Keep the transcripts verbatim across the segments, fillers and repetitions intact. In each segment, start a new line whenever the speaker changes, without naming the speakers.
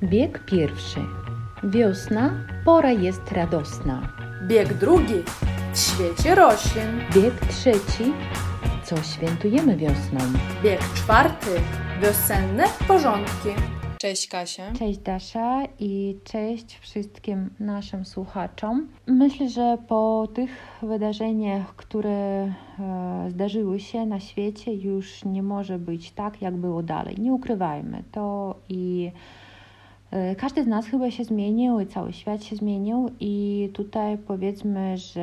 Bieg pierwszy. Wiosna, pora jest radosna.
Bieg drugi. W świecie roślin.
Bieg trzeci. Co świętujemy wiosną?
Bieg czwarty. Wiosenne porządki. Cześć Kasia.
Cześć Dasza i cześć wszystkim naszym słuchaczom. Myślę, że po tych wydarzeniach, które e, zdarzyły się na świecie, już nie może być tak, jak było dalej. Nie ukrywajmy to i e, każdy z nas chyba się zmienił i cały świat się zmienił i tutaj powiedzmy, że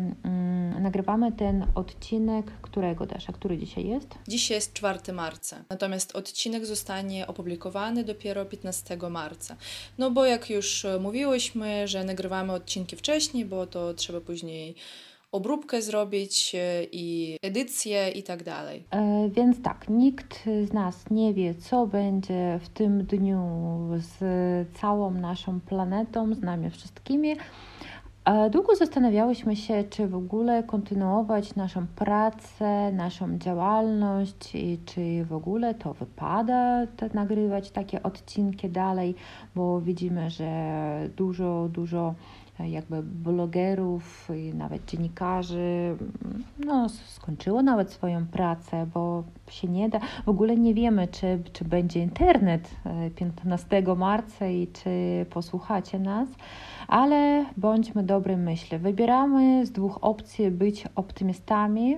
mm, nagrywamy ten odcinek, którego Dasza, który dzisiaj jest?
Dzisiaj jest czwartego marca, natomiast odcinek zostanie opublikowany dopiero piętnastego marca. No bo jak już mówiłyśmy, że nagrywamy odcinki wcześniej, bo to trzeba później obróbkę zrobić i edycję i tak dalej.
E, więc tak, nikt z nas nie wie, co będzie w tym dniu z całą naszą planetą, z nami wszystkimi. E, długo zastanawiałyśmy się, czy w ogóle kontynuować naszą pracę, naszą działalność i czy w ogóle to wypada te, nagrywać takie odcinki dalej, bo widzimy, że dużo, dużo jakby blogerów i nawet dziennikarzy no, skończyło nawet swoją pracę, bo się nie da. W ogóle nie wiemy, czy, czy będzie internet piętnastego marca i czy posłuchacie nas, ale bądźmy dobrej myśli. Wybieramy z dwóch opcji być optymistami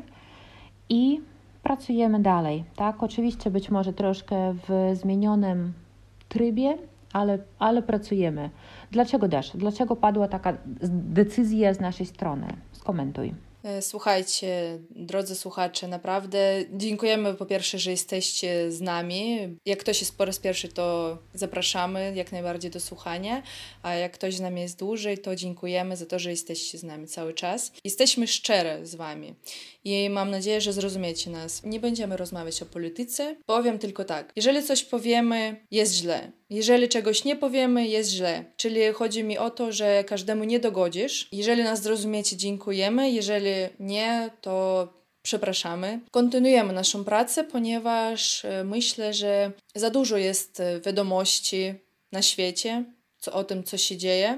i pracujemy dalej. Tak? Oczywiście być może troszkę w zmienionym trybie, ale, ale pracujemy. Dlaczego Dasz? Dlaczego padła taka decyzja z naszej strony? Skomentuj.
Słuchajcie, drodzy słuchacze, naprawdę dziękujemy po pierwsze, że jesteście z nami. Jak ktoś jest po raz pierwszy, to zapraszamy jak najbardziej do słuchania, a jak ktoś z nami jest dłużej, to dziękujemy za to, że jesteście z nami cały czas. Jesteśmy szczere z wami i mam nadzieję, że zrozumiecie nas. Nie będziemy rozmawiać o polityce, powiem tylko tak. Jeżeli coś powiemy, jest źle. Jeżeli czegoś nie powiemy, jest źle. Czyli chodzi mi o to, że każdemu nie dogodzisz. Jeżeli nas zrozumiecie, dziękujemy. Jeżeli nie, to przepraszamy. Kontynuujemy naszą pracę, ponieważ myślę, że za dużo jest wiadomości na świecie co, o tym, co się dzieje.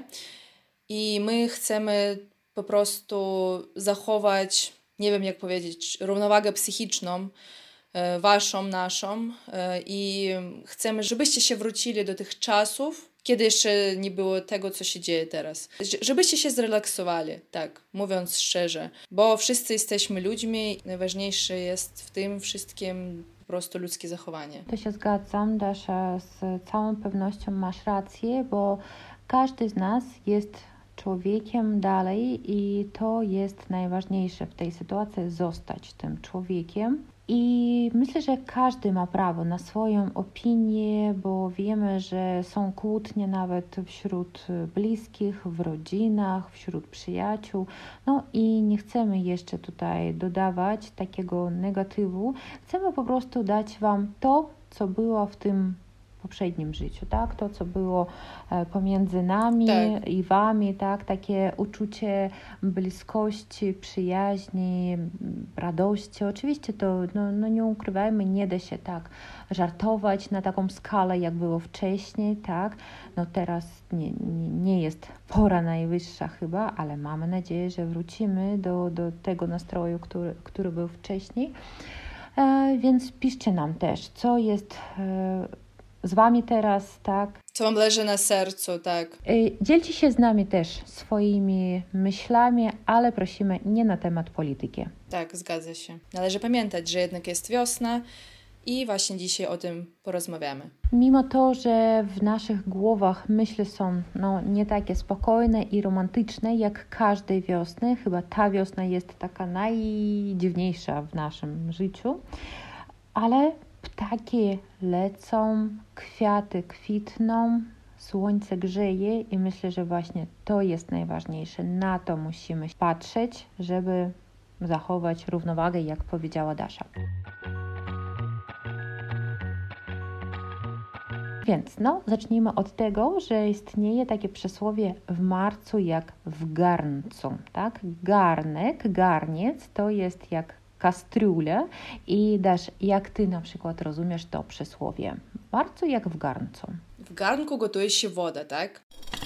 I my chcemy po prostu zachować, nie wiem jak powiedzieć, równowagę psychiczną, waszą, naszą i chcemy, żebyście się wrócili do tych czasów, kiedy jeszcze nie było tego, co się dzieje teraz. Żebyście się zrelaksowali, tak, mówiąc szczerze, bo wszyscy jesteśmy ludźmi, najważniejsze jest w tym wszystkim po prostu ludzkie zachowanie.
To się zgadzam, Dasza, z całą pewnością masz rację, bo każdy z nas jest człowiekiem dalej i to jest najważniejsze w tej sytuacji, zostać tym człowiekiem. I myślę, że każdy ma prawo na swoją opinię, bo wiemy, że są kłótnie nawet wśród bliskich, w rodzinach, wśród przyjaciół. No i nie chcemy jeszcze tutaj dodawać takiego negatywu. Chcemy po prostu dać Wam to, co było w tym poprzednim życiu, tak? To, co było pomiędzy nami
tak.
i Wami, tak? Takie uczucie bliskości, przyjaźni, radości. Oczywiście to, no, no nie ukrywajmy, nie da się tak żartować na taką skalę, jak było wcześniej, tak? No teraz nie, nie, nie jest pora najwyższa chyba, ale mamy nadzieję, że wrócimy do, do tego nastroju, który, który był wcześniej. E, więc piszcie nam też, co jest e, z Wami teraz, tak?
Co Wam leży na sercu, tak?
Dzielcie się z nami też swoimi myślami, ale prosimy nie na temat polityki.
Tak, zgadza się. Należy pamiętać, że jednak jest wiosna i właśnie dzisiaj o tym porozmawiamy.
Mimo to, że w naszych głowach myśli są no, nie takie spokojne i romantyczne jak każdej wiosny, chyba ta wiosna jest taka najdziwniejsza w naszym życiu, ale ptaki lecą, kwiaty kwitną, słońce grzeje i myślę, że właśnie to jest najważniejsze. Na to musimy patrzeć, żeby zachować równowagę, jak powiedziała Dasza. Więc no, zacznijmy od tego, że istnieje takie przysłowie w marcu jak w garncu, tak? Garnek, garniec to jest jak kastriuля i Dasz, jak ty na przykład rozumiesz to przysłowie? w marcu jak w garncu?
W garnku gotuje się woda, tak?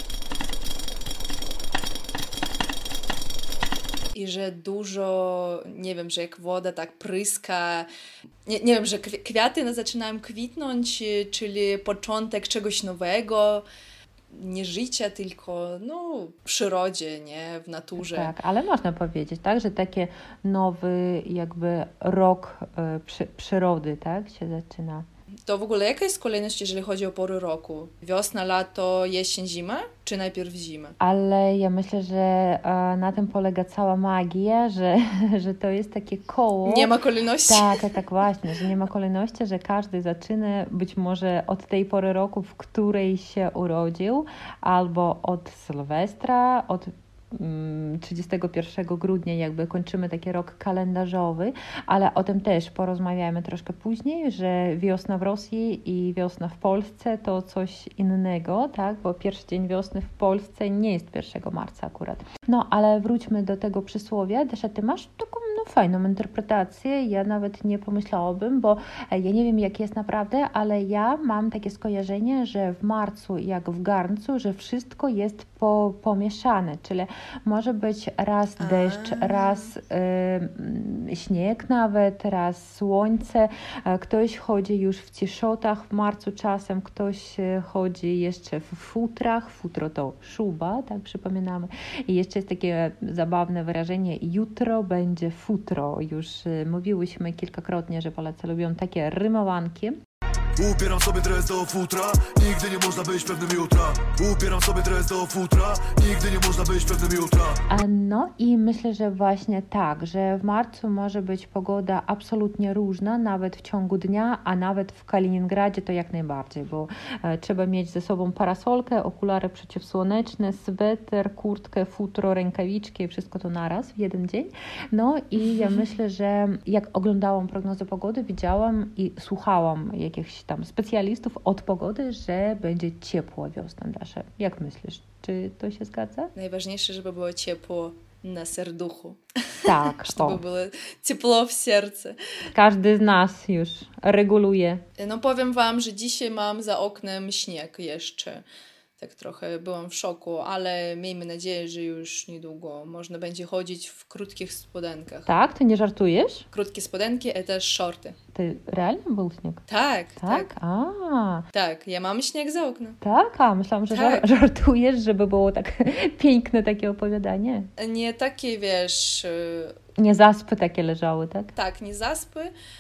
I że dużo, nie wiem, że jak woda tak pryska, nie, nie wiem, że kwiaty zaczynają kwitnąć, czyli początek czegoś nowego, nie życia, tylko no, w przyrodzie, nie, w naturze.
Tak, ale można powiedzieć, tak, że taki nowy jakby rok y, przy, przyrody, tak, się zaczyna.
To w ogóle jaka jest kolejność, jeżeli chodzi o pory roku? Wiosna, lato, jesień, zima? Czy najpierw zima?
Ale ja myślę, że e, na tym polega cała magia, że, że to jest takie koło.
Nie ma kolejności?
Tak, tak właśnie, że nie ma kolejności, że każdy zaczyna być może od tej pory roku, w której się urodził, albo od Sylwestra, od trzydziestego pierwszego grudnia jakby kończymy taki rok kalendarzowy, ale o tym też porozmawiamy troszkę później, że wiosna w Rosji i wiosna w Polsce to coś innego, tak, bo pierwszy dzień wiosny w Polsce nie jest pierwszego marca akurat. No, ale wróćmy do tego przysłowia. Desza, ty masz taką no, fajną interpretację, ja nawet nie pomyślałabym, bo ja nie wiem jak jest naprawdę, ale ja mam takie skojarzenie, że w marcu jak w garncu, że wszystko jest po, pomieszane, czyli może być raz deszcz, A. raz y, śnieg nawet, raz słońce. Ktoś chodzi już w ciszotach w marcu czasem, ktoś chodzi jeszcze w futrach. Futro to szuba, tak przypominamy. I jeszcze jest takie zabawne wyrażenie jutro będzie futro. Już mówiłyśmy kilkakrotnie, że Polacy lubią takie rymowanki.
Upieram sobie dres do futra, nigdy nie można być pewnym jutra. Upieram sobie dres do futra, nigdy nie można być pewnym jutra.
No i myślę, że właśnie tak, że w marcu może być pogoda absolutnie różna, nawet w ciągu dnia, a nawet w Kaliningradzie to jak najbardziej, bo e, trzeba mieć ze sobą parasolkę, okulary przeciwsłoneczne, sweter, kurtkę, futro, rękawiczki, wszystko to naraz w jeden dzień. No i ja myślę, że jak oglądałam prognozę pogody, widziałam i słuchałam jakichś tam specjalistów od pogody, że będzie ciepła wiosna, Dasza. Jak myślisz, czy to się zgadza?
Najważniejsze, żeby było ciepło na serduchu.
Tak.
Żeby było ciepło w sercu.
Każdy z nas już reguluje.
No powiem wam, że dzisiaj mam za oknem śnieg jeszcze. Tak trochę byłam w szoku, ale miejmy nadzieję, że już niedługo można będzie chodzić w krótkich spodenkach.
Tak? Ty nie żartujesz?
Krótkie spodenki i też shorty.
Ty realnie był śnieg?
Tak, tak.
Tak? A.
Tak, ja mam śnieg za oknem.
Tak? A, myślałam, że
tak.
żartujesz, żeby było tak piękne takie opowiadanie.
Nie takie, wiesz...
Nie zaspy takie leżały, tak?
Tak, nie zaspy,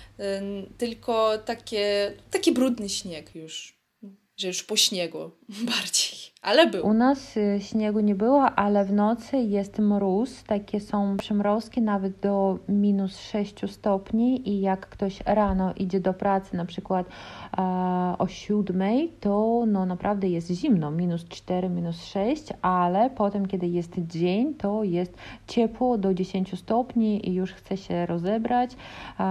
tylko takie, taki brudny śnieg już. Że już po śniegu bardziej, ale był.
U nas śniegu nie było, ale w nocy jest mróz, takie są przymrozki nawet do minus sześć stopni i jak ktoś rano idzie do pracy na przykład e, o siódmej, to no naprawdę jest zimno, minus cztery, minus sześć, ale potem kiedy jest dzień, to jest ciepło do dziesięć stopni i już chce się rozebrać e,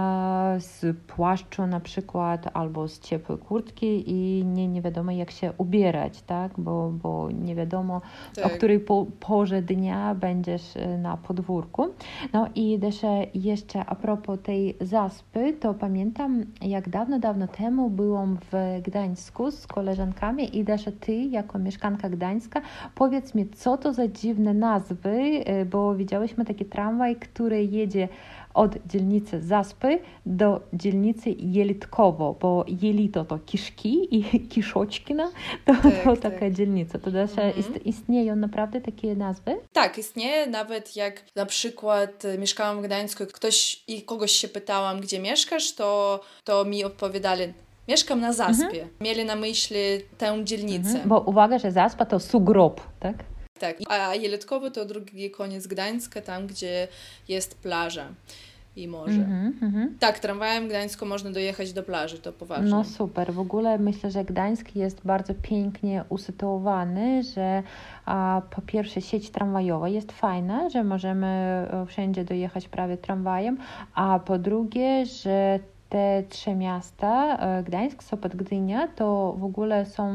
z płaszczu na przykład albo z ciepłej kurtki i nie, nie wiadomo jak się ubierać, tak? Bo, bo nie wiadomo tak. o której po, porze dnia będziesz na podwórku. No i też jeszcze a propos tej zaspy, to pamiętam jak dawno, dawno temu byłam w Gdańsku z koleżankami i też ty jako mieszkanka Gdańska powiedz mi, co to za dziwne nazwy, bo widziałyśmy taki tramwaj, który jedzie od dzielnicy Zaspy do dzielnicy Jelitkowo, bo Jelito to kiszki i Kiszoczkina to,
tak,
to
tak.
taka dzielnica. To też mhm. ist, istnieją naprawdę takie nazwy?
Tak, istnieje. Nawet jak na przykład mieszkałam w Gdańsku, ktoś i kogoś się pytałam, gdzie mieszkasz, to, to mi odpowiadali, mieszkam na Zaspie. Mhm. Mieli na myśli tę dzielnicę. Mhm.
Bo uwaga, że Zaspa to sugrób, tak?
Tak, a Jelitkowo to drugi koniec Gdańska, tam gdzie jest plaża i morze. Mm-hmm, mm-hmm. Tak, tramwajem w Gdańsku można dojechać do plaży, to poważnie.
No super, w ogóle myślę, że Gdańsk jest bardzo pięknie usytuowany, że a, po pierwsze sieć tramwajowa jest fajna, że możemy wszędzie dojechać prawie tramwajem, a po drugie, że te trzy miasta, Gdańsk, Sopot, Gdynia, to w ogóle są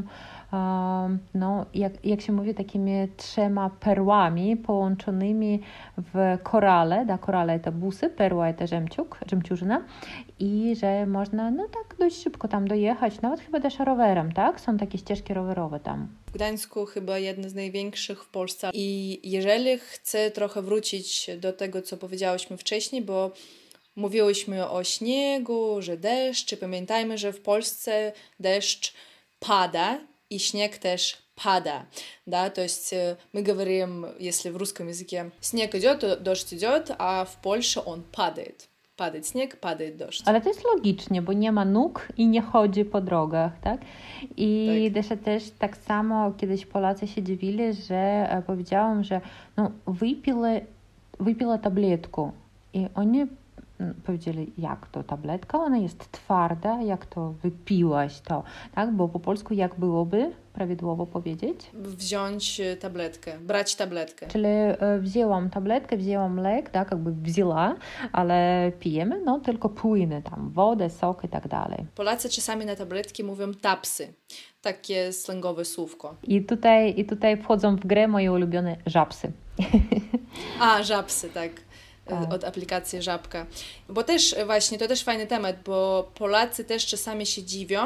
no, jak, jak się mówi, takimi trzema perłami połączonymi w korale. Da, korale to busy, perła to żemciuk, żemciużyna i że można no tak dość szybko tam dojechać, nawet chyba też rowerem, tak? Są takie ścieżki rowerowe tam.
W Gdańsku chyba jedna z największych w Polsce. I jeżeli chcę trochę wrócić do tego, co powiedziałyśmy wcześniej, bo mówiłyśmy o śniegu, że deszcz. Pamiętajmy, że w Polsce deszcz pada и снег też pada. Да? То есть мы говорим, если в русском языке снег идет, то дождь идет, а в Польше он падает. Падает снег, падает deszcz.
Ale to jest logicznie, bo nie ma nóg i nie chodzi po drogach, tak? I tak. Też tak samo kiedyś Polacy się dziwili, że powiedziałam, że no, wypili, wypila tabletkę i oni powiedzieli, jak to tabletka, ona jest twarda, jak to wypiłaś to, tak? Bo po polsku jak byłoby prawidłowo powiedzieć?
Wziąć tabletkę, brać tabletkę.
Czyli wzięłam tabletkę, wzięłam lek, tak, jakby wzięła, ale pijemy, no tylko płyny tam, wodę, sok i tak dalej.
Polacy czasami na tabletki mówią tapsy, takie slangowe słówko.
I tutaj, i tutaj wchodzą w grę moje ulubione żabsy.
A, żabsy, tak. Tak. Od aplikacji Żabka. Bo też właśnie, to też fajny temat, bo Polacy też czasami się dziwią,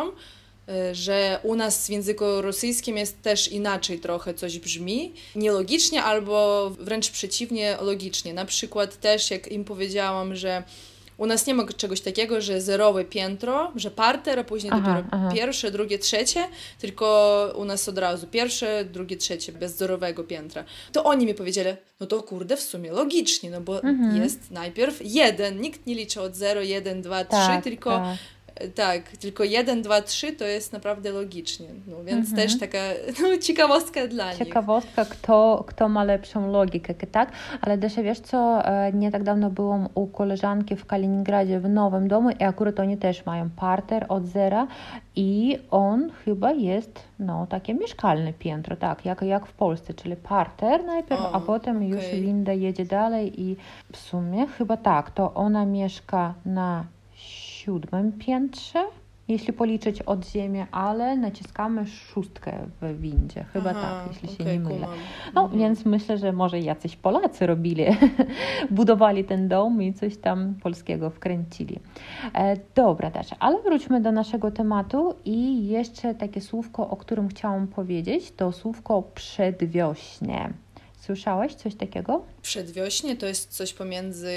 że u nas w języku rosyjskim jest też inaczej trochę coś brzmi, nielogicznie albo wręcz przeciwnie, logicznie. Na przykład też jak im powiedziałam, że u nas nie ma czegoś takiego, że zerowe piętro, że parter, a później aha, dopiero aha. pierwsze, drugie, trzecie, tylko u nas od razu pierwsze, drugie, trzecie, bez zerowego piętra. To oni mi powiedzieli, no to kurde, w sumie logicznie, no bo mhm. jest najpierw jeden, nikt nie liczy od zero, jeden, dwa, trzy,
tak,
tylko
tak.
tak, tylko jeden, dwa, trzy to jest naprawdę logicznie, no więc mhm. też taka no, ciekawostka dla nich.
Ciekawostka, kto, kto ma lepszą logikę, tak? Ale Desia, wiesz co, nie tak dawno byłam u koleżanki w Kaliningradzie w nowym domu i akurat oni też mają parter od zera i on chyba jest, no, takie mieszkalne piętro, tak, jak, jak w Polsce, czyli parter najpierw, o, a potem okay. już winda jedzie dalej i w sumie chyba tak, to ona mieszka na siódmym piętrze, jeśli policzyć od ziemi, ale naciskamy szóstkę w windzie. Chyba aha, tak, jeśli okay, się nie mylę. No, mhm. więc myślę, że może jacyś Polacy robili, budowali ten dom i coś tam polskiego wkręcili. E, dobra, Dasza, ale wróćmy do naszego tematu i jeszcze takie słówko, o którym chciałam powiedzieć, to słówko przedwiośnie. Słyszałaś coś takiego?
Przedwiośnie to jest coś pomiędzy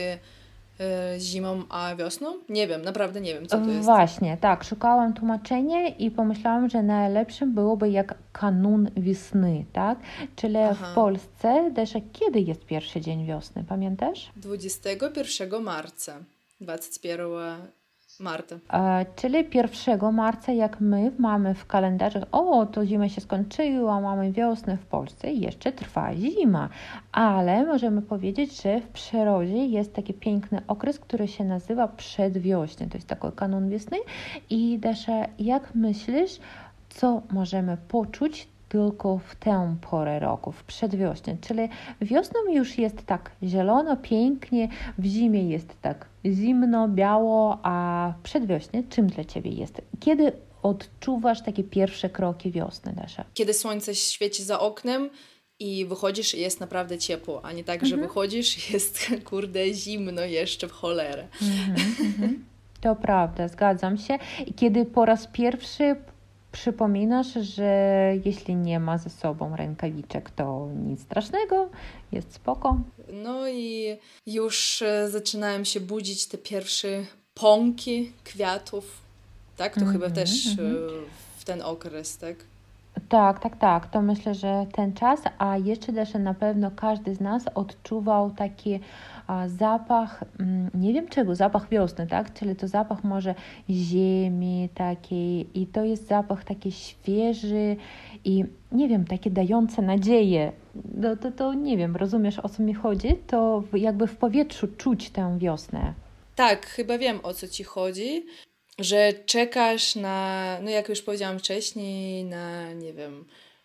zimą a wiosną? Nie wiem, naprawdę nie wiem, co to jest.
Właśnie, tak, szukałam tłumaczenia i pomyślałam, że najlepszym byłoby jak kanun wiosny, tak? Czyli aha. w Polsce, Desza, kiedy jest pierwszy dzień wiosny, pamiętasz?
dwudziestego pierwszego marca, dwudziestego pierwszego marca.
E, czyli pierwszego marca, jak my mamy w kalendarzu, o, to zima się skończyła, mamy wiosnę w Polsce i jeszcze trwa zima. Ale możemy powiedzieć, że w przyrodzie jest taki piękny okres, który się nazywa przedwiośnie. To jest taki kanun wiosny. I Dasza, jak myślisz, co możemy poczuć tylko w tę porę roku, w przedwiośnie? Czyli wiosną już jest tak zielono, pięknie, w zimie jest tak zimno, biało, a przedwiośnie czym dla Ciebie jest? Kiedy odczuwasz takie pierwsze kroki wiosny, Dasza?
Kiedy słońce świeci za oknem i wychodzisz i jest naprawdę ciepło, a nie tak, mhm. że wychodzisz i jest kurde zimno jeszcze w cholerę.
Mhm, mhm. To prawda, zgadzam się. I kiedy po raz pierwszy przypominasz, że jeśli nie ma ze sobą rękawiczek, to nic strasznego, jest spoko.
No i już zaczynają się budzić te pierwsze pąki kwiatów, tak? To mm-hmm, chyba też mm-hmm. w ten okres, tak?
Tak, tak, tak. To myślę, że ten czas, a jeszcze też na pewno każdy z nas odczuwał taki a, zapach, m, nie wiem czego, zapach wiosny, tak? Czyli to zapach może ziemi takiej i to jest zapach taki świeży i nie wiem, takie dające nadzieję. To, to, to nie wiem, rozumiesz o co mi chodzi? To jakby w powietrzu czuć tę wiosnę.
Tak, chyba wiem o co Ci chodzi. Że czekasz na, no jak już powiedziałam wcześniej, na, nie wiem,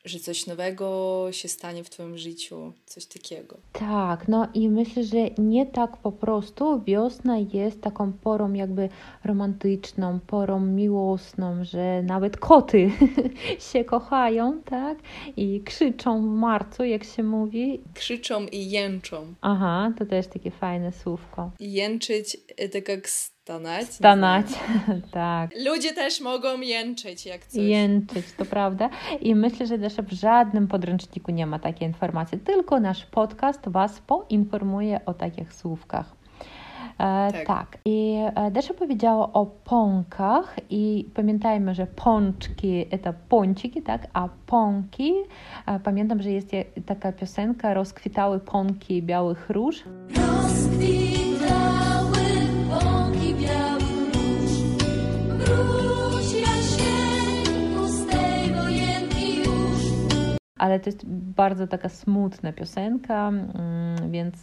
że coś nowego się stanie w twoim życiu, coś takiego.
Tak, no i myślę, że nie tak po prostu wiosna jest taką porą jakby romantyczną, porą miłosną, że nawet koty się kochają, tak? I krzyczą w marcu, jak się mówi.
Krzyczą i jęczą.
Aha, to też takie fajne słówko.
Jęczyć to jak stanać.
Stanać, tak.
Ludzie też mogą jęczyć jak coś.
Jęczyć, to prawda. I myślę, że też w żadnym podręczniku nie ma takiej informacji, tylko nasz podcast Was poinformuje o takich słówkach. E, tak. tak. I Desza powiedziała o pąkach i pamiętajmy, że pączki to pąciki, tak? A pąki, e, pamiętam, że jest taka piosenka Rozkwitały pąki białych róż. Rozkwitały pąki białych róż, wróć Jasieńku z tej wojenki już. Ale to jest bardzo taka smutna piosenka, więc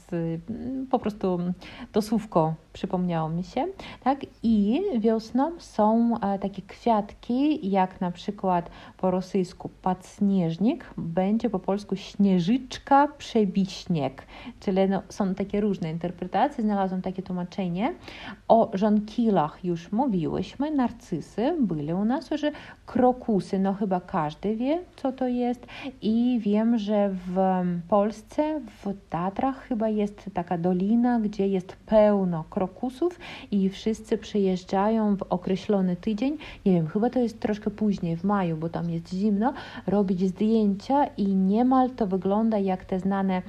po prostu to słówko przypomniało mi się, tak? I wiosną są takie kwiatki, jak na przykład po rosyjsku padsnieżnik, będzie po polsku śnieżyczka, przebiśnieg, czyli no, są takie różne interpretacje, znalazłam takie tłumaczenie. O żonkilach już mówiłyśmy, narcysy byli u nas, że krokusy, no chyba każdy wie, co to jest i wiem, że w Polsce, w Tatrach chyba jest taka dolina, gdzie jest pełno krokusów i wszyscy przyjeżdżają w określony tydzień, nie wiem, chyba to jest troszkę później, w maju, bo tam jest zimno, robić zdjęcia i niemal to wygląda jak te znane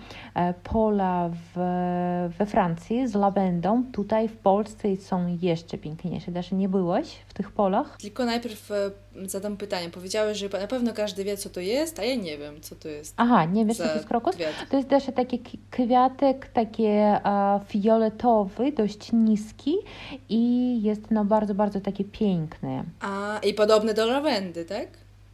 pola w, we Francji z lawendą. Tutaj w Polsce są jeszcze piękniejsze. Dasza, nie byłaś w tych polach?
Tylko najpierw zadam pytanie. Powiedziałeś, że na pewno każdy wie, co to jest, a ja nie wiem, co to jest.
Aha, nie wiesz, co to jest krokus?
Kwiat.
To jest też taki kwiatek, taki e, fioletowy, dość niski i jest no bardzo, bardzo taki piękny.
A, i podobny do lawendy, tak?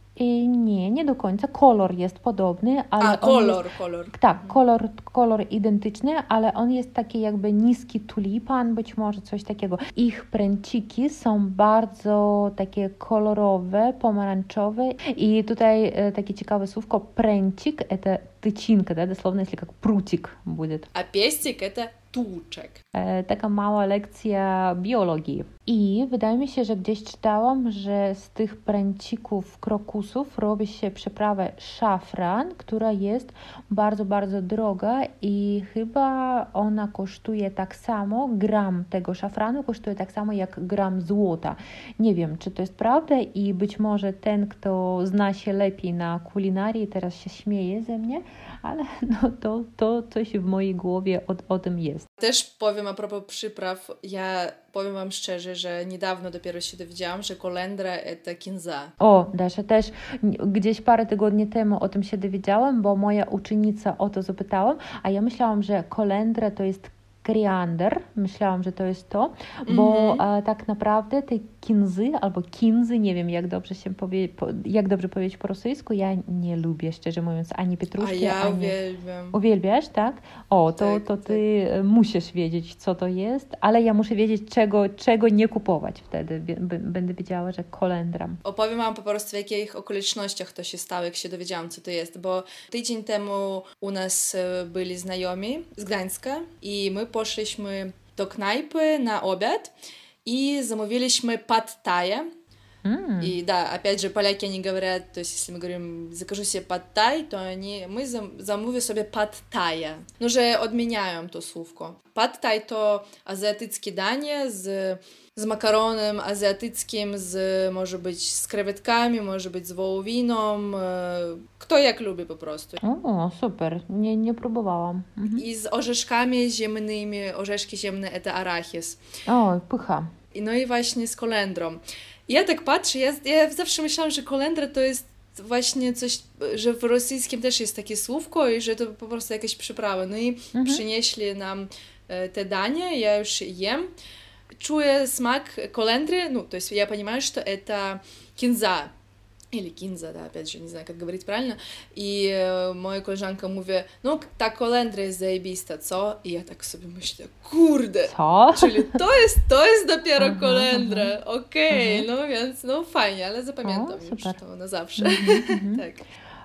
I nie, nie do końca. Kolor jest podobny, ale
A, kolor,
jest,
kolor.
Tak, kolor, kolor identyczny, ale on jest taki jakby niski tulipan, być może coś takiego. Ich pręciki są bardzo takie kolorowe, pomarańczowe i tutaj e, takie ciekawe słówko pręcik, to тычинка, да, дословно, если как прутик будет.
А пестик это tuczek.
E, taka mała lekcja biologii. I wydaje mi się, że gdzieś czytałam, że z tych pręcików krokusów robi się przyprawę szafran, która jest bardzo, bardzo droga i chyba ona kosztuje tak samo, gram tego szafranu kosztuje tak samo jak gram złota. Nie wiem, czy to jest prawda i być może ten, kto zna się lepiej na kulinarii, teraz się śmieje ze mnie, ale no to, to coś w mojej głowie o, o tym jest.
Też powiem a propos przypraw, ja powiem wam szczerze, że niedawno dopiero się dowiedziałam, że kolendra to kinza.
O, Dasza, też gdzieś parę tygodni temu o tym się dowiedziałam, bo moja uczennica o to zapytała, a ja myślałam, że kolendra to jest koriander, myślałam, że to jest to, bo mm-hmm. a, tak naprawdę te kinzy albo kinzy, nie wiem jak dobrze się powie, po, jak dobrze powiedzieć po rosyjsku, ja nie lubię, szczerze mówiąc, ani pietruszki,
a ja
ani...
uwielbiam.
Uwielbiasz, tak? O, to,
tak,
to
tak.
ty musisz wiedzieć, co to jest, ale ja muszę wiedzieć, czego, czego nie kupować wtedy. B- będę wiedziała, że kolendra.
Opowiem wam po prostu, w jakich okolicznościach to się stało, jak się dowiedziałam, co to jest, bo tydzień temu u nas byli znajomi z Gdańska i my poszliśmy do knajpy na obiad и замовились pad thai. Mm. И да, опять же, поляки, они говорят, то есть, если мы говорим, закажу себе pad thai, to они, my zamówię sobie pad thai. No, że odmieniają to słówko. Pad thai to azjatyckie danie z, z makaronem azjatyckim, z, może być z krewetkami, może być z wołowiną, kto jak lubi po prostu.
O, super, nie, nie próbowałam. Mhm.
I z orzeszkami ziemnymi, orzeszki ziemne to arachis.
O, pycha.
No i właśnie z kolendrą. Ja tak patrzę, ja, ja zawsze myślałam, że kolendra to jest właśnie coś, że w rosyjskim też jest takie słówko i że to po prostu jakaś przyprawa. No i mhm. przynieśli nam te danie, я już jem. Czuję smak kolendry, ну, то есть я понимаю, что это кинза. Или кинза, да, опять же, не знаю, как говорить правильно. I e, moja koleżanka mówi, no ta kolendra jest zajebista, co? I ja tak sobie myślę, kurde,
co?
Czyli to jest, to jest dopiero aha, kolendra, okej, okay, no więc, no fajnie, ale zapamiętam
o,
już to na zawsze.
Mm-hmm,
tak.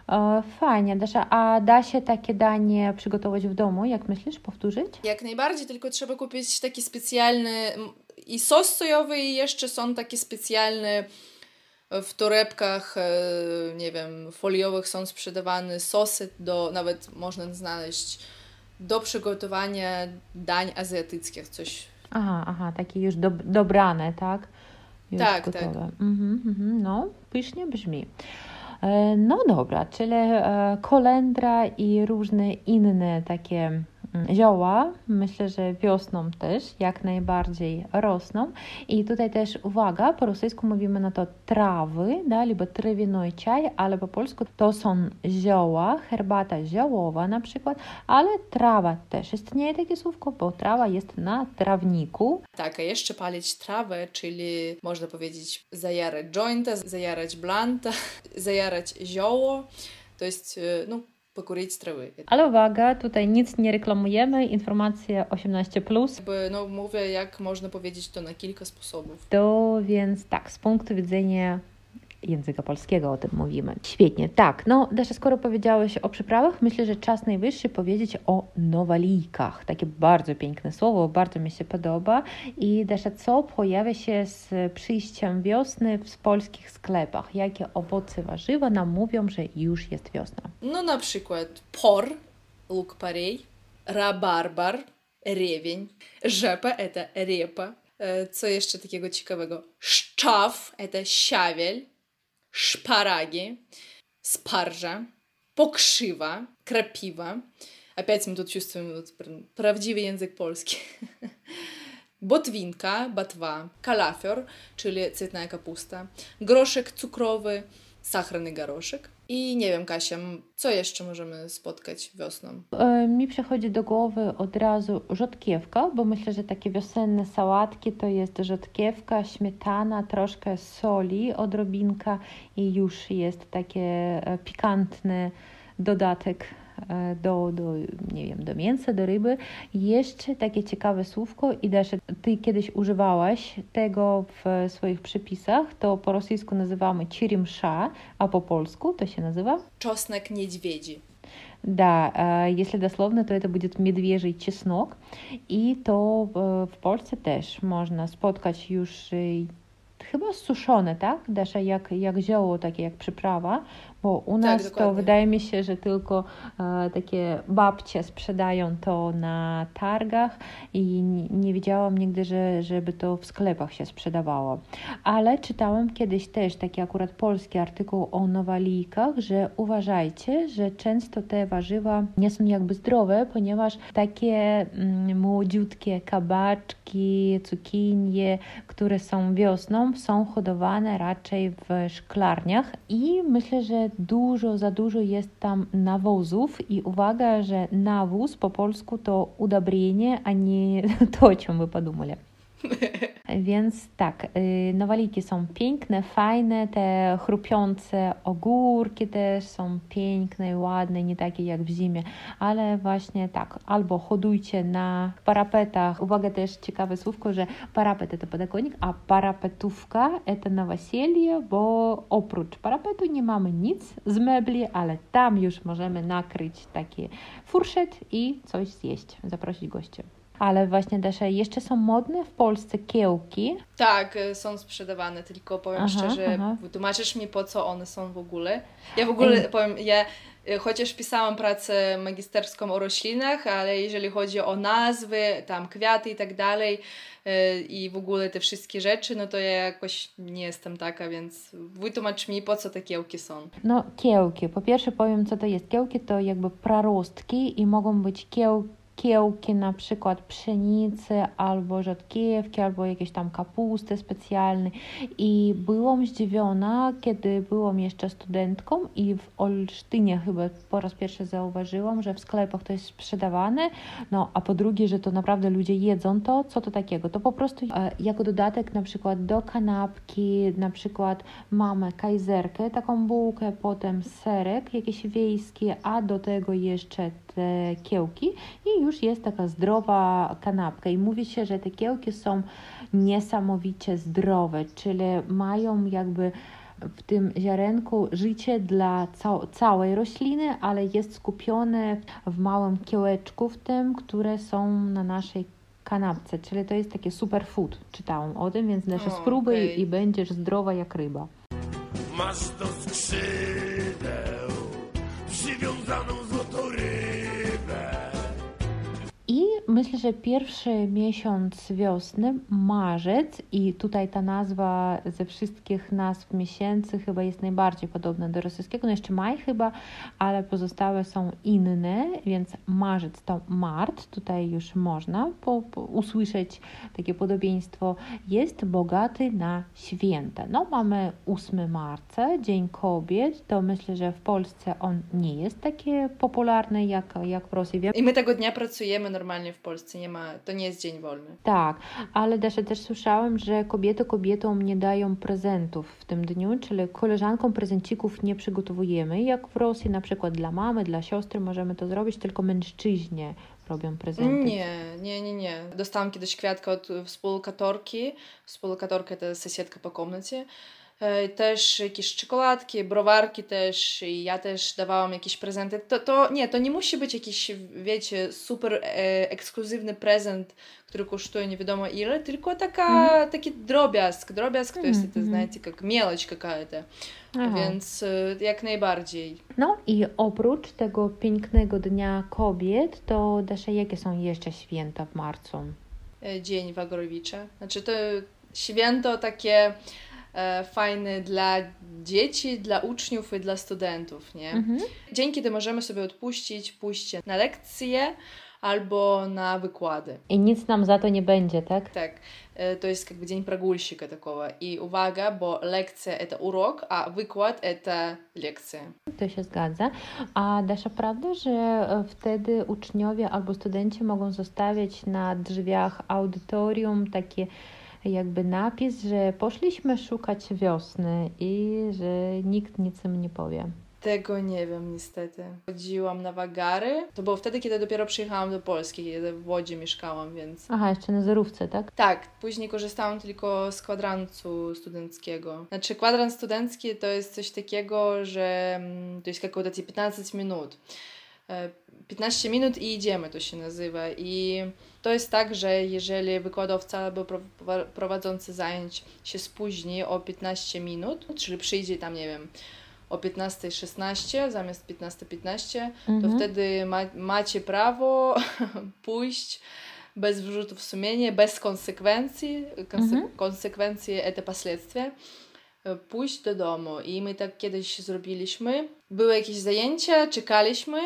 E, Fajnie, Dasza. A da się takie danie przygotować w domu, jak myślisz, powtórzyć?
Jak najbardziej, tylko trzeba kupić taki specjalny m, i sos sojowy, i jeszcze są takie specjalne w torebkach, e, nie wiem, foliowych są sprzedawane sosy, do, nawet można znaleźć do przygotowania dań azjatyckich, coś.
Aha, aha, takie już dob- dobrane, tak? Już
Tak,
gotowe.
tak.
Mhm, mhm, no, pysznie brzmi. E, No dobra, czyli e, kolendra i różne inne takie mm, zioła, myślę, że wiosną też jak najbardziej rosną. I tutaj też uwaga, po rosyjsku mówimy na to trawy, da, albo trawяной czaj, ale po polsku to są zioła, herbata ziołowa na przykład, ale trawa też istnieje takie słówko, bo trawa jest na trawniku.
Tak, a jeszcze palić trawę, czyli można powiedzieć zajarać jointa, zajarać blanta, zajarać zioło, to jest, e, no, покурить травы.
Ale uwaga, tutaj nic nie reklamujemy, informacje osiemnaście plus.
Jakby, no, mówię, jak można powiedzieć to na kilka sposobów.
To więc tak, z punktu widzenia języka polskiego o tym mówimy. Świetnie, tak. No, Dasza, skoro powiedziałeś o przyprawach, myślę, że czas najwyższy powiedzieć o nowalijkach. Takie bardzo piękne słowo, bardzo mi się podoba. I Dasza, co pojawia się z przyjściem wiosny w polskich sklepach? Jakie owoce, warzywa nam mówią, że już jest wiosna?
No, na przykład por, лук-порей, рабарбар, ревень, rzepa, это репа. E, Co jeszcze takiego ciekawego? Szczaw, это siawiel, szparagi, sparża, pokrzywa, krapiwa. Опять мы тут чувствуем вот прям prawdziwy język polski. Botwinka, batwa, kalafior, czyli cytna kapusta, groszek cukrowy, sachrany garoszek. I nie wiem, Kasia, co jeszcze możemy spotkać wiosną?
E, Mi przychodzi do głowy od razu rzodkiewka, bo myślę, że takie wiosenne sałatki to jest rzodkiewka, śmietana, troszkę soli, odrobinka i już jest takie e, pikantny dodatek e, do, do, nie wiem, do mięsa, do ryby. Jeszcze takie ciekawe słówko i Dasza, ty kiedyś używałaś tego w swoich przepisach, to po rosyjsku nazywamy черемша, a po polsku to się nazywa?
Czosnek niedźwiedzi.
Да, э, если дословно, то это будет медвежий чеснок. I to э, w Polsce też można spotkać już y, chyba suszone, tak? Dasza, jak, jak zioło, takie jak przyprawa, bo u nas to
dokładnie.
wydaje mi się, że tylko e, takie babcie sprzedają to na targach i nie, nie widziałam nigdy, że, żeby to w sklepach się sprzedawało. Ale czytałam kiedyś też taki akurat polski artykuł o nowalijkach, że uważajcie, że często te warzywa nie są jakby zdrowe, ponieważ takie mm, młodziutkie kabaczki, cukinie, które są wiosną, są hodowane raczej w szklarniach i myślę, że dużo, za dużo jest tam nawozów i uwaga, że nawóz po polsku to udobrienie, a nie to, o czym wy podumali. Więc tak, nowaliki są piękne, fajne, te chrupiące ogórki też są piękne i ładne, nie takie jak w zimie, ale właśnie tak, albo hodujcie na parapetach. Uwaga, też ciekawe słówko, że parapet to podakonik, a parapetówka to na weselię, bo oprócz parapetu nie mamy nic z mebli, ale tam już możemy nakryć taki furszet i coś zjeść, zaprosić gości. Ale właśnie, Dasza, jeszcze są modne w Polsce kiełki.
Tak, są sprzedawane, tylko powiem
Aha,
szczerze,
aha.
wytłumaczysz mi, po co one są w ogóle? Ja w ogóle
Ej.
powiem, ja e, chociaż pisałam pracę magisterską o roślinach, ale jeżeli chodzi o nazwy, tam kwiaty i tak dalej e, i w ogóle te wszystkie rzeczy, no to ja jakoś nie jestem taka, więc wytłumacz mi, po co te kiełki są.
No, kiełki. Po pierwsze powiem, co to jest. Kiełki to jakby prarostki i mogą być kiełki, kiełki na przykład pszenicy, albo rzodkiewki, albo jakieś tam kapusty specjalne. I byłam zdziwiona, kiedy byłam jeszcze studentką i w Olsztynie chyba po raz pierwszy zauważyłam, że w sklepach to jest sprzedawane, no a po drugie, że to naprawdę ludzie jedzą to, co to takiego? To po prostu e, jako dodatek na przykład do kanapki, na przykład mamy kajzerkę, taką bułkę, potem serek jakiś wiejski, a do tego jeszcze te kiełki i już jest taka zdrowa kanapka. I mówi się, że te kiełki są niesamowicie zdrowe, czyli mają jakby w tym ziarenku życie dla ca- całej rośliny, ale jest skupione w małym kiełeczku w tym, które są na naszej kanapce, czyli to jest takie superfood. Czytałam o tym, więc też
O,
spróbuj
okej.
i będziesz zdrowa jak ryba.
Masz do skrzydeł przywiązaną złotą rybę.
I myślę, że pierwszy miesiąc wiosny, marzec, i tutaj ta nazwa ze wszystkich nazw miesięcy chyba jest najbardziej podobna do rosyjskiego, no jeszcze maj chyba, ale pozostałe są inne, więc marzec to mart, tutaj już można po, po usłyszeć takie podobieństwo, jest bogaty na święta. No mamy ósmego marca, Dzień Kobiet, to myślę, że w Polsce on nie jest taki popularny jak, jak w Rosji.
I my tego dnia pracujemy normalnie w Polsce, nie ma, to nie jest dzień wolny.
Tak, ale Dasza, też słyszałam, że kobiety kobietom nie dają prezentów w tym dniu, czyli koleżankom prezencików nie przygotowujemy, jak w Rosji na przykład dla mamy, dla siostry możemy to zrobić, tylko mężczyźni robią prezenty.
Nie, nie, nie, nie. Dostałam kiedyś kwiatka od współlokatorki. Współlokatorka to sąsiedka po komnacie. Też jakieś czekoladki, browarki też i ja też dawałam jakieś prezenty. To, to nie, to nie musi być jakiś, wiecie, super e, ekskluzywny prezent, który kosztuje nie wiadomo ile, tylko taka, mm. taki drobiazg, drobiazg, to jest,
Mm-hmm.
to, знаете, jak mieloć какая-то. Więc e, jak najbardziej.
No i oprócz tego pięknego Dnia Kobiet, to Dasza, jakie są jeszcze święta w marcu?
Dzień Wagorowicza. Znaczy to święto takie fajny dla dzieci, dla uczniów i dla studentów, nie?
Mhm.
Dzień, kiedy możemy sobie odpuścić pójście na lekcje albo na wykłady.
I nic nam za to nie będzie, tak?
Tak. To jest jakby dzień прогульщика такого. I uwaga, bo lekcja это урок, a wykład это lekcja.
To się zgadza. A Dasza, prawda, że wtedy uczniowie albo studenci mogą zostawiać na drzwiach audytorium takie jakby napis, że poszliśmy szukać wiosny i że nikt nic im nie powie.
Tego nie wiem niestety. Chodziłam na wagary. To było wtedy, kiedy dopiero przyjechałam do Polski, kiedy w Łodzi mieszkałam, więc...
Aha, jeszcze na zerówce, tak?
Tak, później korzystałam tylko z kwadransu studenckiego. Znaczy kwadrans studencki to jest coś takiego, że to jest какое-то piętnaście minut. piętnaście minut i idziemy, to się nazywa. I to jest tak, że jeżeli wykładowca albo prowadzący zajęć się spóźni o piętnaście minut, czyli przyjdzie tam, nie wiem, o piętnaście szesnaście zamiast piętnaście piętnaście,
mhm.
to wtedy ma, macie prawo pójść bez wyrzutów sumienia, bez konsekwencji. Konse-
mhm.
Konsekwencje to последствия. Pójść do domu. I my tak kiedyś zrobiliśmy. Były jakieś zajęcia, czekaliśmy.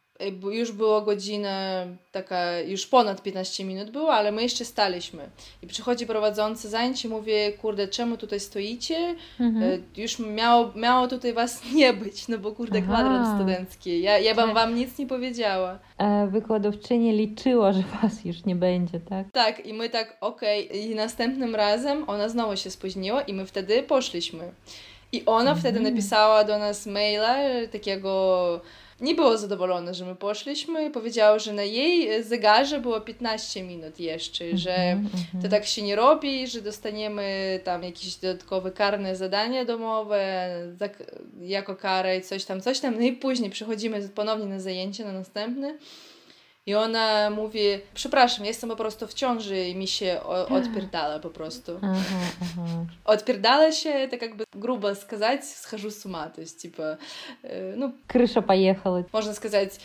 Już była godzina taka, już ponad piętnaście minut było, ale my jeszcze staliśmy. I przychodzi prowadzący zajęcie i mówi, kurde, czemu tutaj stoicie? Mhm. Już miało, miało tutaj was nie być, no bo kurde, Aha. kwadrans studencki. Ja, ja bym wam nic nie powiedziała.
E, wykładowczyni liczyła, że was już nie będzie, tak?
Tak, i my tak, okej. Okay. I następnym razem ona znowu się spóźniła i my wtedy poszliśmy. I ona mhm. wtedy napisała do nas maila takiego... Nie było zadowolona, że my poszliśmy i powiedziała, że na jej zegarze było piętnaście minut jeszcze, mm-hmm, że mm-hmm. to tak się nie robi, że dostaniemy tam jakieś dodatkowe karne zadania domowe jako karę i coś tam, coś tam. No i później przychodzimy ponownie na zajęcie, na następne i ona mówi, przepraszam, jestem po prostu w ciąży i mi się odpierdala po prostu.
Ага, ага.
Odpierdala się, tak jakby грубо сказать, схожу с ума, то есть, типа, ну...
Крыша поехала.
Можно сказать,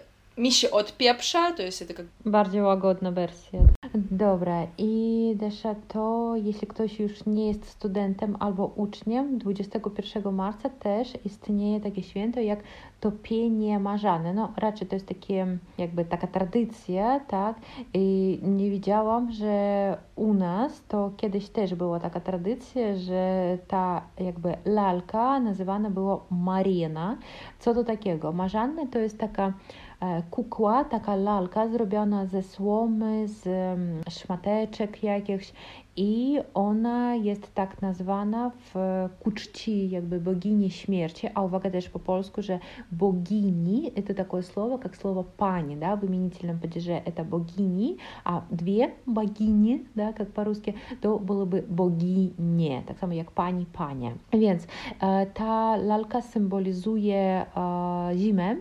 mi się odpieprza, to jest taka...
Bardziej łagodna wersja. Dobra, i Dasza, to jeśli ktoś już nie jest studentem albo uczniem, dwudziestego pierwszego marca też istnieje takie święto jak topienie marzane. No raczej to jest takie, jakby taka tradycja, tak? I nie wiedziałam, że u nas to kiedyś też była taka tradycja, że ta jakby lalka nazywana była Marina. Co to takiego? Marzanne to jest taka kukła, taka lalka zrobiona ze słomy, z szmateczek jakichś i ona jest tak nazwana w ku czci jakby bogini śmierci, a uwaga też po polsku, że bogini это такое слово, как слово пани, да, в именительном падеже это богини, а две богини, да, как по-русски, to byłyby boginie, tak samo jak pani, panie. Więc e, ta lalka symbolizuje e, zimę.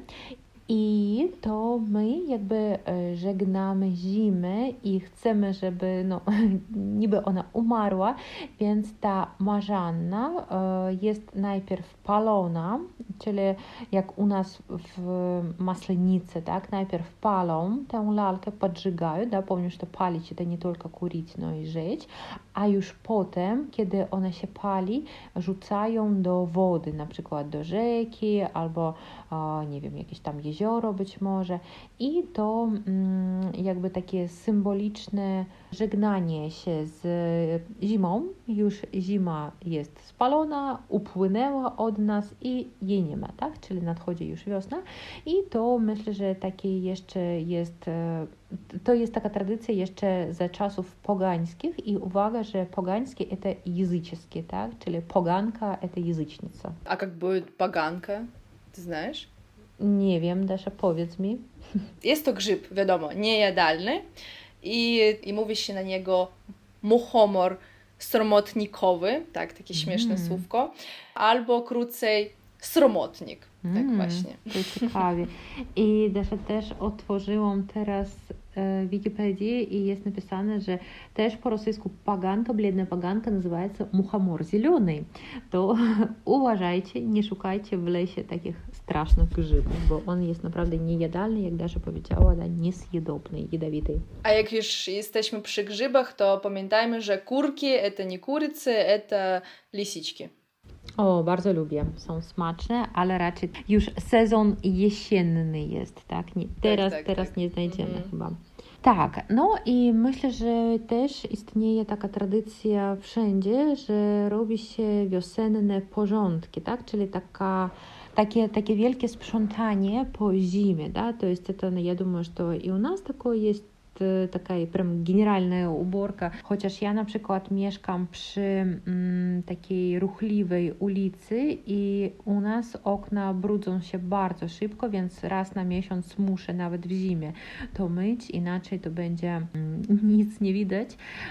I to my jakby żegnamy zimę i chcemy, żeby no, niby ona umarła, więc ta marzanna jest najpierw palona, czyli jak u nas w Maslenicy, tak, najpierw palą tę lalkę, podżygają, да, помню, что палить это не только курить, но и жечь, a już potem, kiedy ona się pali, rzucają do wody, na przykład do rzeki albo nie wiem, jakieś tam jezioro być może i to mm, jakby takie symboliczne żegnanie się z zimą, już zima jest spalona, upłynęła od nas i jej nie ma, tak? Czyli nadchodzi już wiosna i to myślę, że takie jeszcze jest, to jest taka tradycja jeszcze za czasów pogańskich i uwaga, że pogańskie это языческие, tak? Czyli poganka это язычница.
A jak była poganka? Ty znasz?
Nie wiem, Dasza, powiedz mi.
Jest to grzyb, wiadomo, niejadalny i, i mówi się na niego muchomor sromotnikowy, tak, takie śmieszne mm. słówko, albo krócej sromotnik, mm. tak właśnie.
To ciekawie. I Dasza, też otworzyłam teraz Wikipedię i jest napisane, że też po rosyjsku poganka, бледная poganka называется мухомор зеленый. To uważajcie, nie szukajcie w lesie takich strasznych grzybów, bo on jest naprawdę niejadalny, jak Dasza powiedziała, да, niesjedobny, jadowity.
A jak już jesteśmy przy grzybach, to pamiętajmy, że kurki это nie kurycy, это lisiczki.
O, bardzo lubię. Są smaczne, ale raczej już sezon jesienny jest, tak? Nie, teraz
tak, tak,
teraz
tak.
nie znajdziemy
Mhm.
chyba. Tak, no i myślę, że też istnieje taka tradycja wszędzie, że robi się wiosenne porządki, tak? Czyli taka, takie, takie wielkie sprzątanie po zimie, да? To jest это, я думаю, что и у нас такое есть, taka prям генеральная уборка. Chociaż ja na przykład mieszkam przy mm, takiej ruchliwej ulicy i u nas okna brudzą się bardzo szybko, więc raz na miesiąc muszę nawet w zimie to myć, inaczej to będzie mm, nic nie widać.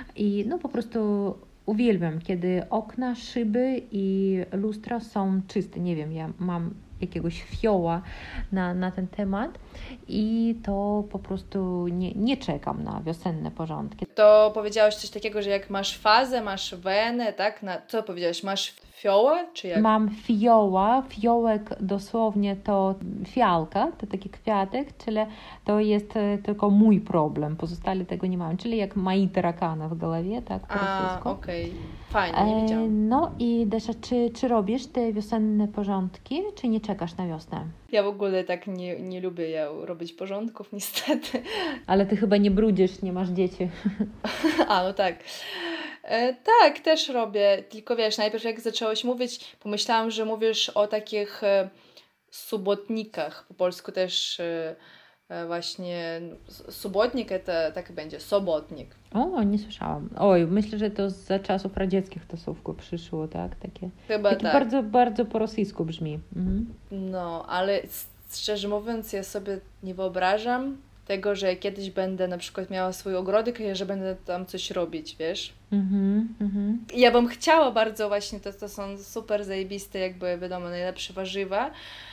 I no po prostu uwielbiam, kiedy okna, szyby i lustra są czyste. Nie wiem, ja mam jakiegoś fioła na, na ten temat i to po prostu nie, nie czekam na wiosenne porządki.
To powiedziałeś coś takiego, że jak masz fazę, masz wenę, tak? Na, co powiedziałeś? Masz fiołę, czy jak?
Mam fioła, fiołek dosłownie to fialka, to taki kwiatek, czyli to jest tylko mój problem, pozostali tego nie mają, czyli jak moi tarakana w głowie, tak po rosyjsku.
A, okej, okay. Fajnie, nie wiedziałam.
No i Dasza, czy, czy robisz te wiosenne porządki, czy nie czekasz na wiosnę?
Ja w ogóle tak nie, nie lubię ja robić porządków, niestety.
Ale ty chyba nie brudzisz, nie masz dzieci.
A, no tak. E, tak, też robię, tylko wiesz, najpierw jak zaczęłaś mówić, pomyślałam, że mówisz o takich e, subotnikach, po polsku też e, e, właśnie subotnik, to tak będzie, sobotnik.
O, nie słyszałam. Oj, myślę, że to za czasów radzieckich to słówko przyszło, tak? Takie,
Chyba
takie
tak.
bardzo, bardzo po rosyjsku brzmi. Mhm.
No, ale szczerze mówiąc, ja sobie nie wyobrażam tego, że kiedyś będę na przykład miała swój ogródek i że będę tam coś robić, wiesz?
Mhm, mhm.
Ja bym chciała bardzo właśnie, to, to są super zajebiste, jakby wiadomo, najlepsze warzywa,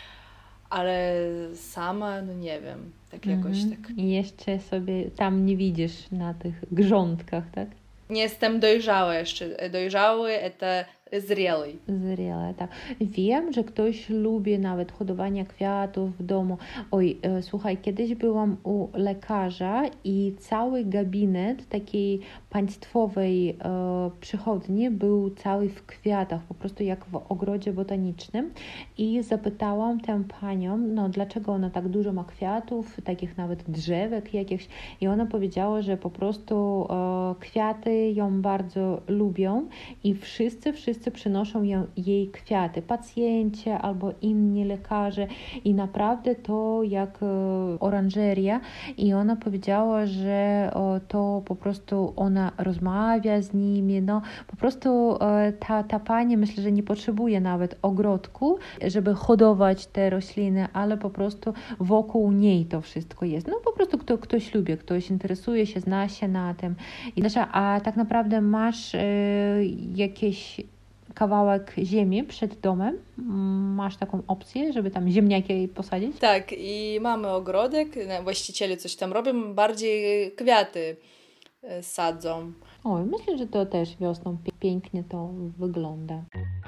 ale sama, no nie wiem, tak jakoś
Mhm.
tak.
I jeszcze sobie tam nie widzisz na tych grządkach, tak?
Nie jestem dojrzała jeszcze. Dojrzały to zrelý.
Zrelé, tak. Wiem, że ktoś lubi nawet hodowanie kwiatów w domu. Oj, e, słuchaj, kiedyś byłam u lekarza i cały gabinet takiej państwowej e, przychodni był cały w kwiatach, po prostu jak w ogrodzie botanicznym i zapytałam tę panią, no dlaczego ona tak dużo ma kwiatów, takich nawet drzewek jakichś i ona powiedziała, że po prostu e, kwiaty ją bardzo lubią i wszyscy, wszyscy wszyscy przynoszą ją, jej kwiaty, pacjenci albo inni lekarze i naprawdę to jak oranżeria i ona powiedziała, że to po prostu ona rozmawia z nimi, no po prostu ta, ta pani myślę, że nie potrzebuje nawet ogrodku, żeby hodować te rośliny, ale po prostu wokół niej to wszystko jest. No po prostu kto, ktoś lubi, ktoś interesuje się, zna się na tym. I Dasza, a tak naprawdę masz y, jakieś kawałek ziemi przed domem? Masz taką opcję, żeby tam ziemniaki posadzić?
Tak, i mamy ogrodek, właściciele coś tam robią, bardziej kwiaty sadzą.
Oj, myślę, że to też wiosną pięknie to wygląda.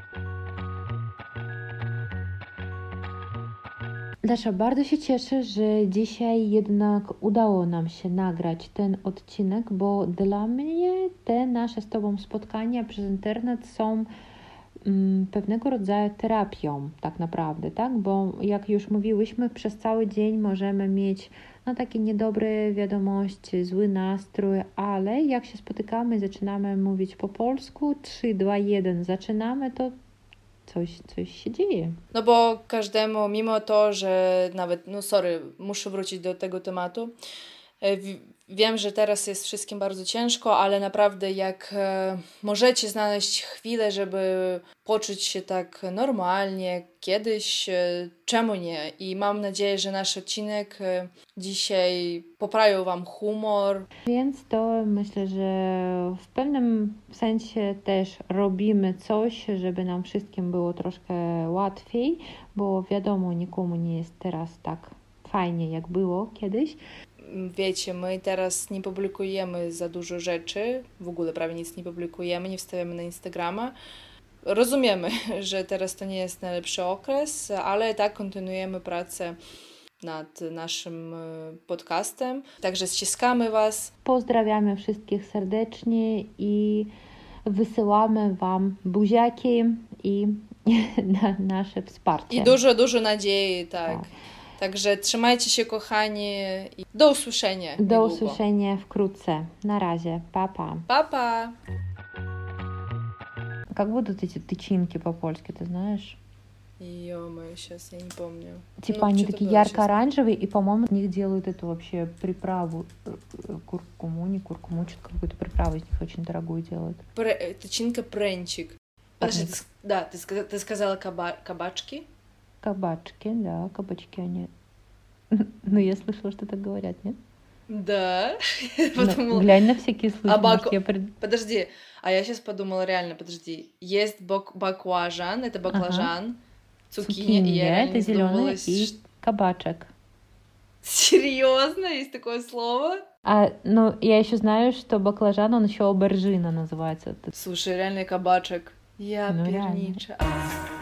Dasza, bardzo się cieszę, że dzisiaj jednak udało nam się nagrać ten odcinek, bo dla mnie te nasze z Tobą spotkania przez internet są mm, pewnego rodzaju terapią tak naprawdę, tak? Bo jak już mówiłyśmy, przez cały dzień możemy mieć no, takie niedobre wiadomości, zły nastrój, ale jak się spotykamy i zaczynamy mówić po polsku, trzy, dwa, jeden, zaczynamy, to Coś, coś się dzieje.
No bo każdemu, mimo to, że nawet, no sorry, muszę wrócić do tego tematu. Wiem, że teraz jest wszystkim bardzo ciężko, ale naprawdę jak możecie znaleźć chwilę, żeby poczuć się tak normalnie, kiedyś, czemu nie? I mam nadzieję, że nasz odcinek dzisiaj poprawił Wam humor.
Więc to myślę, że w pewnym sensie też robimy coś, żeby nam wszystkim było troszkę łatwiej, bo wiadomo, nikomu nie jest teraz tak fajnie, jak było kiedyś.
Wiecie, my teraz nie publikujemy za dużo rzeczy, w ogóle prawie nic nie publikujemy, nie wstawiamy na Instagrama. Rozumiemy, że teraz to nie jest najlepszy okres, ale tak kontynuujemy pracę nad naszym podcastem. Także ściskamy Was.
Pozdrawiamy wszystkich serdecznie i wysyłamy Wam buziaki i na nasze wsparcie.
I dużo, dużo nadziei, tak. tak. Także trzymajcie się, kochani, i do usłyszenia.
Do
niedługo.
usłyszenia wkrótce. Na razie. Pa, pa.
Pa, pa.
Как будут эти тычинки по-польски, ты знаешь?
Ё-моё, сейчас я не помню.
Типа
ну,
они такие ярко-оранжевые, и, по-моему, из них делают эту вообще приправу. Куркуму, не куркуму, что-то какую-то приправу из них очень дорогую делают.
Пре... Тычинка пренчик. Подожди, ты, да, ты, ты сказала каба... кабачки?
Кабачки, да, кабачки они. Ну, я слышала, что так говорят, нет?
Да.
Подумала... Глянь на всякий случай.
А бак...
я...
Подожди, а я сейчас подумала реально, подожди. Есть бак... баклажан, это баклажан, ага. цукини, цукини, и я
это зеленый и кабачек.
Серьезно? Есть такое слово?
А, ну, я еще знаю, что баклажан, он еще обержина называется.
Слушай, реально кабачек. Я
ну,
пернича.